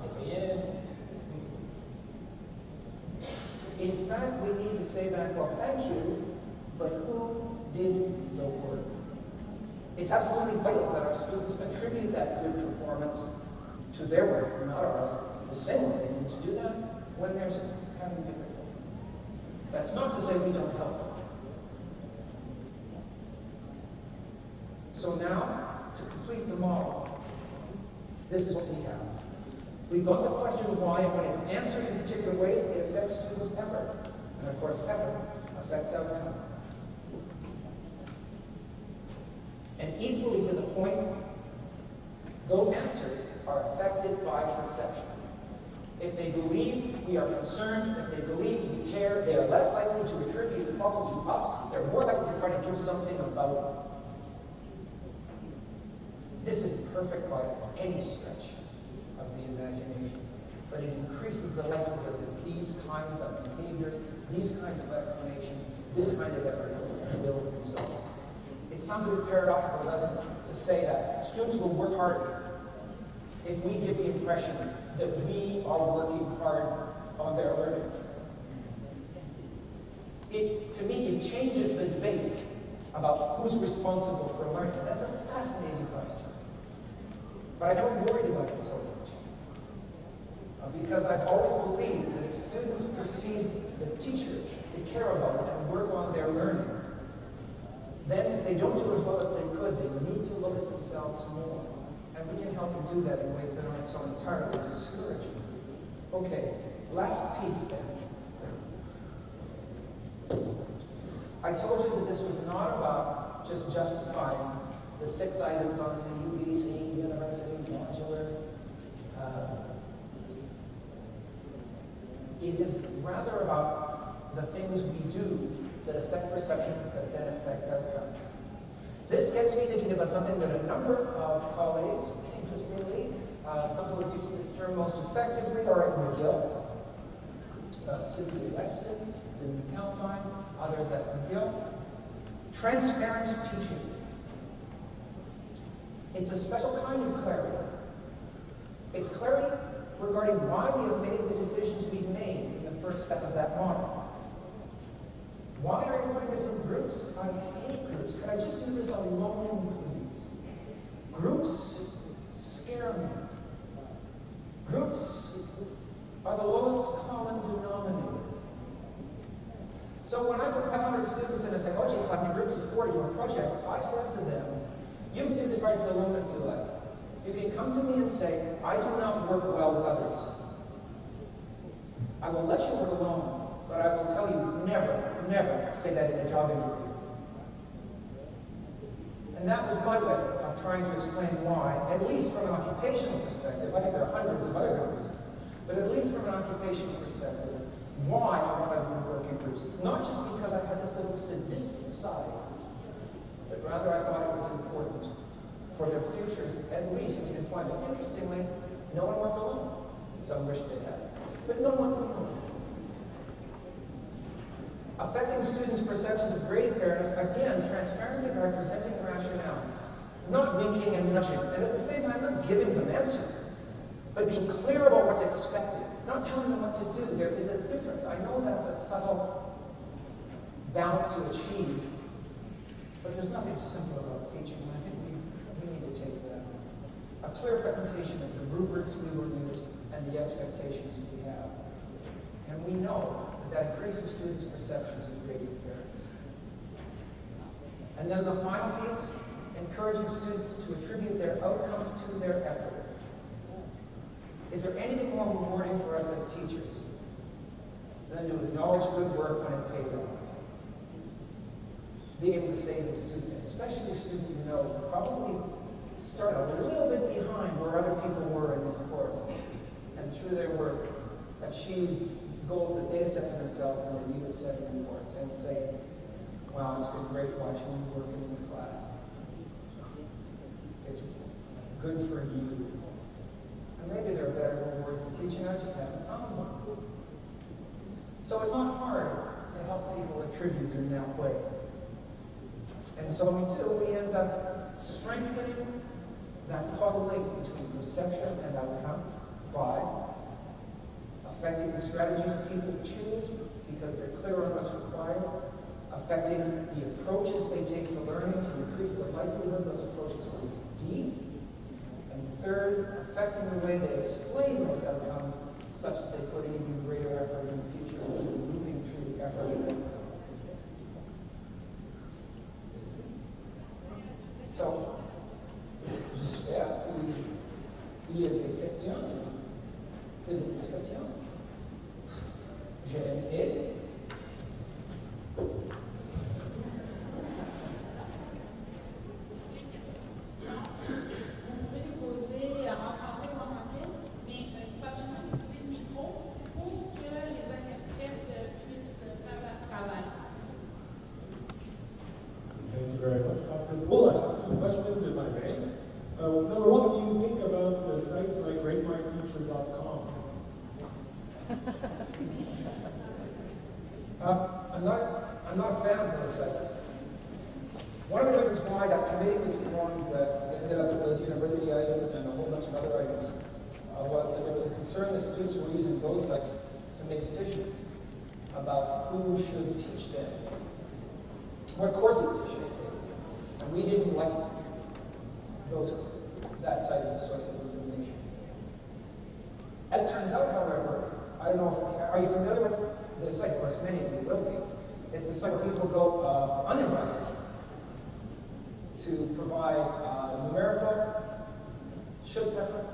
in fact, we need to say that, well, thank you, but who did the work? It's absolutely vital that our students attribute that good performance to their work, not ours. The same way they need to do that when they're having difficulty. That's not to say we don't help them. So now, to complete the model, this is what we have. We've got the question of why, and when it's answered in particular ways, it affects students' effort. And of course, effort affects outcome. And equally to the point, those answers are affected by perception. If they believe we are concerned, if they believe we care, they are less likely to attribute problems to us. They're more likely to try to do something about it. This is perfect by any stretch of the imagination, but it increases the likelihood that these kinds of behaviors, these kinds of explanations, this kind of effort will result. It sounds a bit paradoxical, doesn't it, to say that students will work harder if we give the impression that we are working hard on their learning. To me, it changes the debate about who's responsible for learning. That's a fascinating question. But I don't worry about it so much. Because I've always believed that if students perceive the teacher to care about it and work on their learning, then if they don't do as well as they could, they need to look at themselves more. And we can help them do that in ways that aren't so entirely discouraging. Okay, last piece then. I told you that this was not about just justifying the 6 items on the UBC University modular. It is rather about the things we do that affect perceptions that then affect outcomes. This gets me thinking about something that a number of colleagues, interestingly, serve most effectively are at McGill. Cynthia Weston in Calpine, others at McGill. Transparent teaching. It's a special kind of clarity. It's clarity regarding why we have made the decisions we've made in the first step of that model. Why are you putting us in groups? I hate groups. Can I just do this alone, please? Groups scare me. Groups are the lowest common denominator. So when I put 500 students in a psychology class in groups of 40 or a project, I said to them, you can do this project alone if you like. You can come to me and say, I do not work well with others. I will let you work alone, but I will tell you, never say that in a job interview. And that was my way of trying to explain why, at least from an occupational perspective. I think there are hundreds of other good reasons, but at least from an occupational perspective, why I wanted to work in groups. Not just because I had this little sadistic side, but rather I thought it was important for their futures, at least in employment. Interestingly, no one worked alone. Some wish they had, but no one worked alone. Affecting students' perceptions of grade fairness, again, transparently by presenting rationale, not winking and nudging, and at the same time not giving them answers, but being clear about what's expected, not telling them what to do. There is a difference. I know that's a subtle balance to achieve, but there's nothing simple about teaching. I think we need to take a clear presentation of the rubrics we will use and the expectations we have. And we know that increases students' perceptions of grading fairness. And then the final piece, encouraging students to attribute their outcomes to their effort. Is there anything more rewarding for us as teachers than to acknowledge good work when it paid off? Being able to say to the student, especially a student you know, probably started a little bit behind where other people were in this course, and through their work achieved goals that they had set for themselves and that you had set in the course, and say, wow, it's been great watching you work in this class. It's good for you. And maybe there are better rewards in teaching, I just haven't found one. So it's not hard to help people attribute in that way. And so when we do, we end up strengthening that causal link between perception and outcome by affecting the strategies people choose because they're clear on what's required, affecting the approaches they take to learning to increase the likelihood those approaches will be deep, and third, affecting the way they explain those outcomes such that they put in even greater effort in the future, moving through the effort. So, j'espère qu'il y a des questions et des discussions. J'ai aidé. I'm not a fan of those sites. One of the reasons why that committee was formed that ended up with those university items and a whole bunch of other items was that there was a concern that students were using those sites to make decisions about who should teach them, what courses they should take. And we didn't like that site as a source of information. As it turns out, however, I don't know, are you familiar with this site? Of course, many of you will be. It's a site where people go uninvited to provide numerical, chili pepper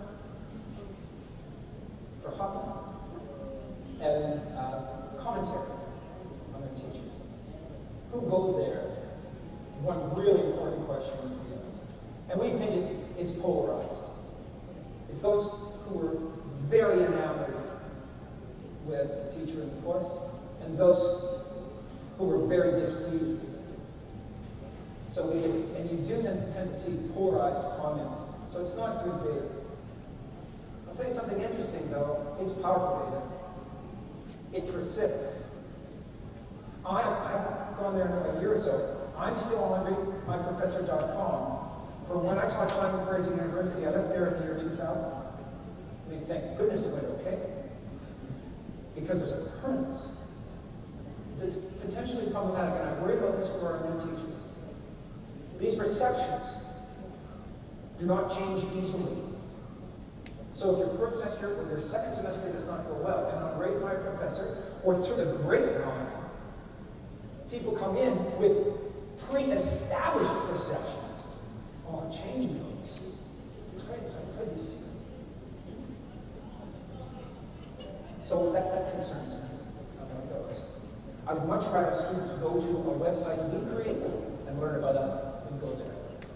for hobbies, and commentary on their teachers. Who goes there? One really important question to be asked. And we think it's polarized. It's those who are very enamored with the teacher in the course, and those who were very displeased with it. So and you do tend to see polarized comments. So it's not good data. I'll tell you something interesting. though, it's powerful data. It persists. I've gone there in a year or so. I'm still on readmyprofessor.com for when I taught Simon Fraser University. I left there in the year 2000. I mean, thank goodness it went okay. Because there's a permanence that's potentially problematic, and I worry about this for our new teachers. These perceptions do not change easily. So if your first semester or your second semester does not go well, and on Rate My Professor, or through the grapevine, people come in with pre-established perceptions. Oh, change those. So that concerns me about those. I would much rather students go to a website we create and learn about us than go there.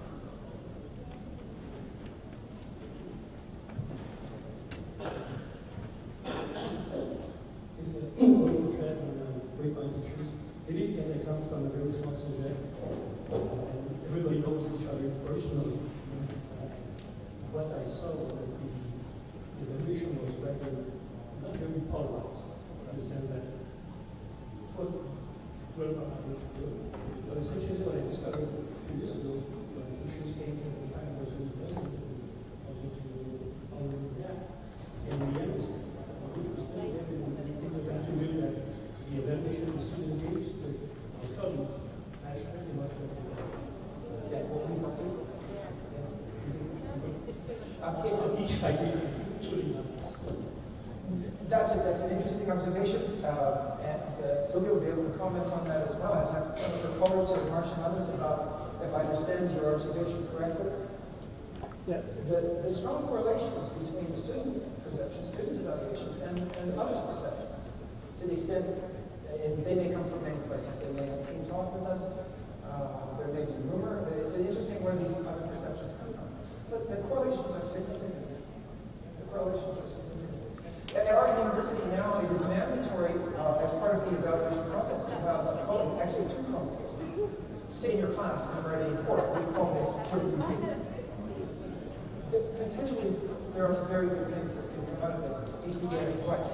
Maybe because I come from a very small subject, and everybody knows each other personally. What I saw was that the evaluation was rather not very polarized, in the sense that what but essentially what I discovered a few years ago when issues came to the time I was in university, I was already there. And the end was still there, and I came to the conclusion that the evaluation of student engaged with our colleagues actually much more. Yeah, what we thought too. It's a niche idea. That's an interesting observation, and Sylvia will be able to comment on that as well, as have some of her colleagues or Marsh and others, about if I understand your observation correctly. Yeah. The strong correlations between student perceptions, students' evaluations, and others' perceptions, to the extent, and they may come from many places. They may have team talk with us. There may be rumor. It's interesting where these other perceptions come from. But the correlations are significant. The correlations are significant. At our university now, it is mandatory as part of the evaluation process to have a colleague, actually two colleagues, sit in your class and write a report. We call this critical review. Potentially, there are some very good things that can come out of this if we get it right.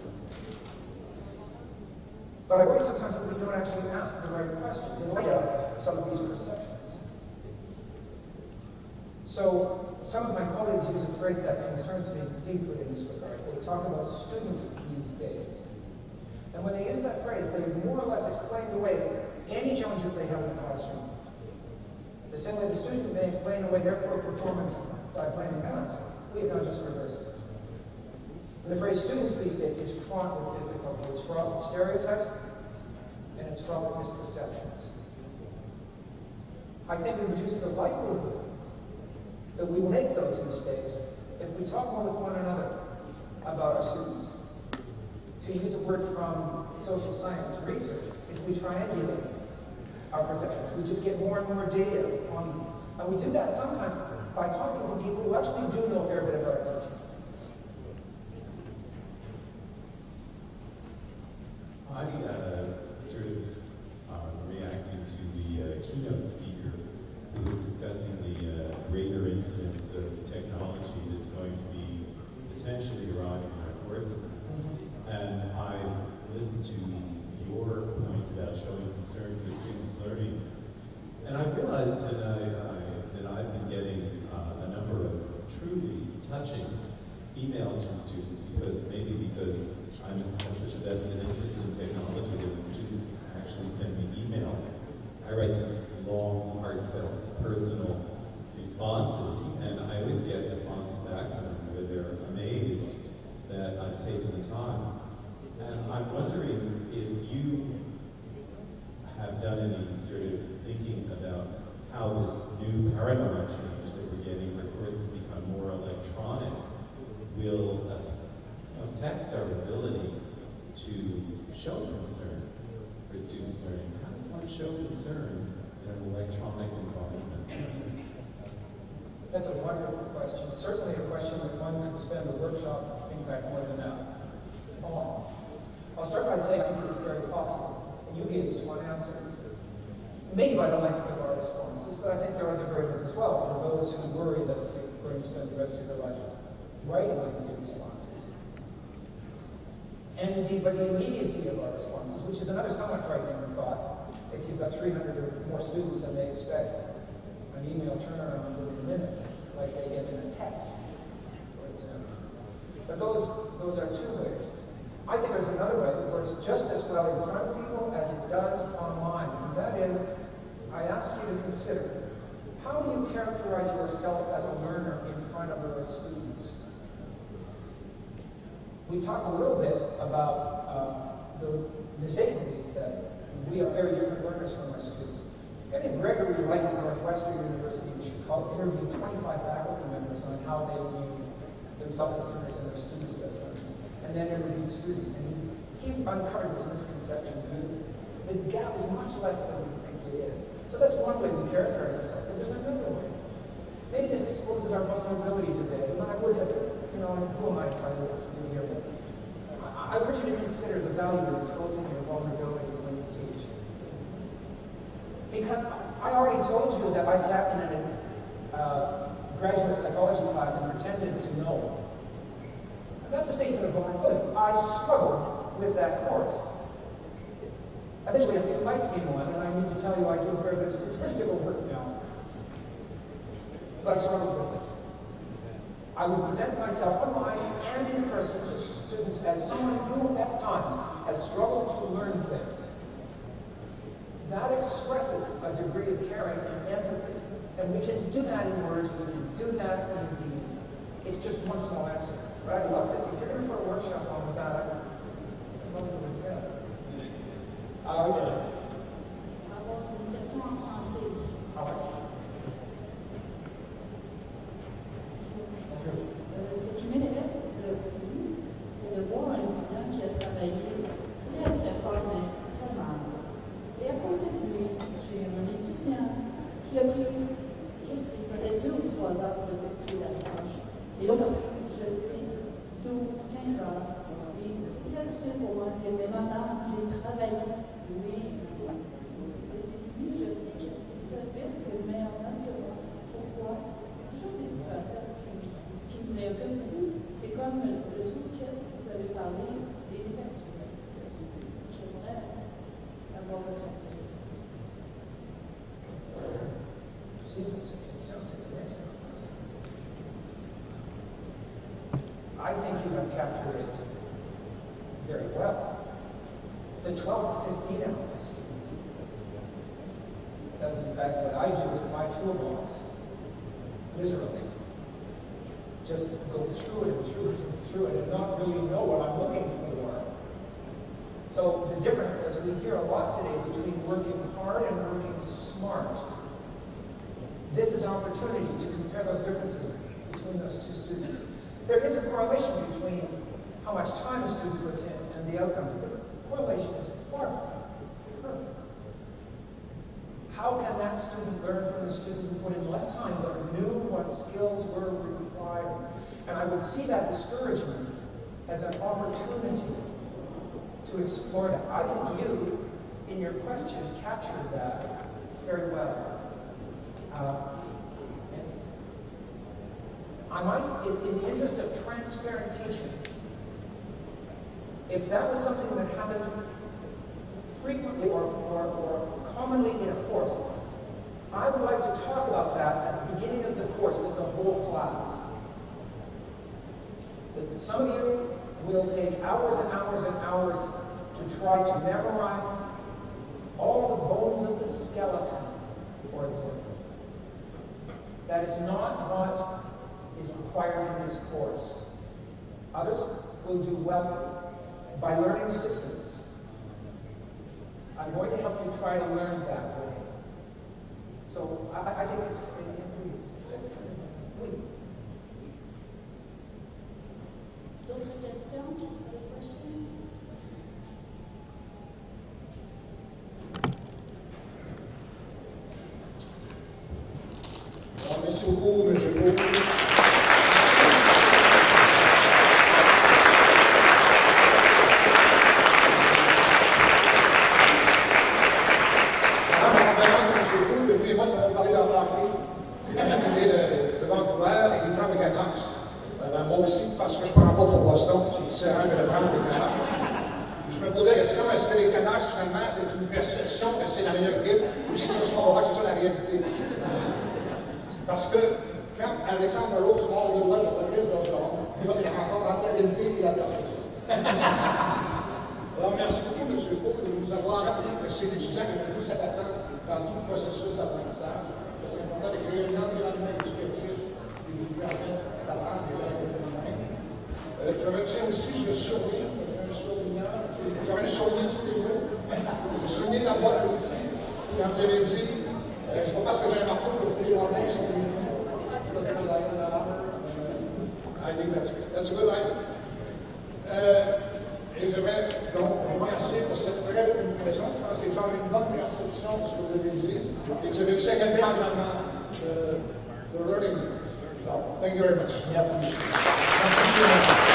But I worry sometimes that we don't actually ask the right questions in light of some of these perceptions. So some of my colleagues use a phrase that concerns me deeply in this regard. They talk about students these days. And when they use that phrase, they more or less explain away any challenges they have in the classroom. The same way the student may explain away their poor performance by playing math. We have now just reversed it. And the phrase students these days is fraught with difficulty. It's fraught with stereotypes, and it's fraught with misperceptions. I think we reduce the likelihood that we will make those mistakes if we talk more with one another about our students. To use a word from social science research, if we triangulate our perceptions, we just get more and more data on, and we do that sometimes by talking to people who actually do know a fair bit about our teaching. I sort of reacted to the keynote speaker who was discussing the greater incidence of technology that's going to be potentially arriving in our courses. And I listened to your point about showing concern for students' learning. And I realized that I've been getting a number of truly touching emails from students because I have such a vested interest in technology that when students actually send me emails, I write these long, heartfelt, personal responses, and I always get responses back from them where they're amazed that I've taken the time. And I'm wondering if you have done any sort of thinking about how this new paradigm change that we're getting, where courses become more electronic, will affect our ability to show concern for students' learning. How does one show concern in an electronic environment? That's a wonderful question. Certainly a question that one could spend a workshop, in fact, more than that, on. I'll start by saying I think it's very possible, and you gave us one answer. Maybe by the length of our responses, but I think there are other burdens as well for those who worry that they're going to spend the rest of their life writing lengthy responses. and indeed by the immediacy of our responses, which is another somewhat frightening thought. If you've got 300 or more students and they expect an email turnaround within minutes, like they get in a text, for example. But those are two ways. I think there's another way that works just as well in front of people as it does online, and that is, I ask you to consider, how do you characterize yourself as a learner in front of your students? We talked a little bit about the mistaken belief that we are very different learners from our students. Eddie Gregory Wright at Northwestern University in Chicago interviewed 25 faculty members on how they view themselves as learners and their students as learners, and then interviewed students, and he uncovered this misconception view. The gap is much less than we think it is. So that's one way we characterize ourselves, but there's another way. Maybe this exposes our vulnerabilities a bit, and I would have, who am I trying to do here? But I urge you to consider the value of exposing your vulnerabilities when you teach. Because I already told you that I sat in a graduate psychology class and pretended to know. And that's a statement of vulnerability. I struggled with that course. Eventually, I think the lights came on, and I need to tell you I do a fair bit of statistical work now. But I struggled with it. I would present myself online and in person to students as someone who, at times, has struggled to learn things. That expresses a degree of caring and empathy. And we can do that in words, we can do that in deed. It's just one small answer. But I'd love to, if you're going to put a workshop on with that, I'd love to attend. Avoir une question en français ici. Ce qui m'intéresse le plus, c'est de voir un étudiant qui a travaillé très très fort, mais très mal. Et à côté de lui, j'ai un étudiant qui a pris juste peut-être 2 ou 3 heures pour effectuer la tâche. Et là, je le sais, 12, 15 heures. Et c'est très difficile pour moi de dire, mais madame, j'ai travaillé. Oui, lui, je sais qu'il se fait le meilleur temps que moi. Pourquoi? C'est toujours des situations qui me préoccupent. C'est comme le truc que vous avez parlé des factures. J'aimerais avoir votre réponse. See, it's a question, c'est an excellent question. I think you have captured it very well. The 12 to 15 hour student does in fact what I do with my toolbox, miserably. Just go through it and through it and through it and not really know what I'm looking for. So the difference, as we hear a lot today, between working hard and working smart, this is an opportunity to compare those differences between those two students. There is a correlation between how much time a student puts in and the outcome. The correlation is far from perfect. How can that student learn from the student who put in less time but knew what skills were required? And I would see that discouragement as an opportunity to explore that. I think you, in your question, captured that very well. I might, in the interest of transparent teaching, if that was something that happened frequently or commonly in a course, I would like to talk about that at the beginning of the course with the whole class. That some of you will take hours and hours and hours to try to memorize all the bones of the skeleton, for example. That is not what is required in this course. Others will do well by learning systems. I'm going to help you try to learn that way. So I think it's oui. D'autres questions? Other questions? Merci beaucoup, M. Beau. Alors, moi aussi, parce que je ne prends pas pour Boston, c'est différent de le prendre des Canucks. Je me posais la question, est-ce que les Canucks, finalement, c'est une perception que c'est la meilleure équipe, ou si ce soir, on va voir que c'est ça la réalité? Parce que, quand Alexandre Rose mord le doigt sur le Christ d'Orgeron, moi, c'est la rencontre entre la réalité et la perception. Alors, merci beaucoup, M. Pau, de nous avoir rappelé que c'est l'étudiant qui est le plus important dans tout le processus d'apprentissage. C'est important de créer un environnement éducatif qui nous permet d'apprendre des langues humaines. Je retiens aussi, je souligne, j'aurais souligné tous les mots. Je souligne la boîte aussi, quand vous avez dit, c'est pas parce que j'ai un marteau que tous les Rwandais sont des gens. I think that's a good idea. Et j'aimerais donc remercier pour cette très bonne impression. Je pense que les gens ont une bonne perception de ce que vous avez dit. Et que vous avez aussi accueilli l'environnement de learning. So, thank you very much. Merci. Merci.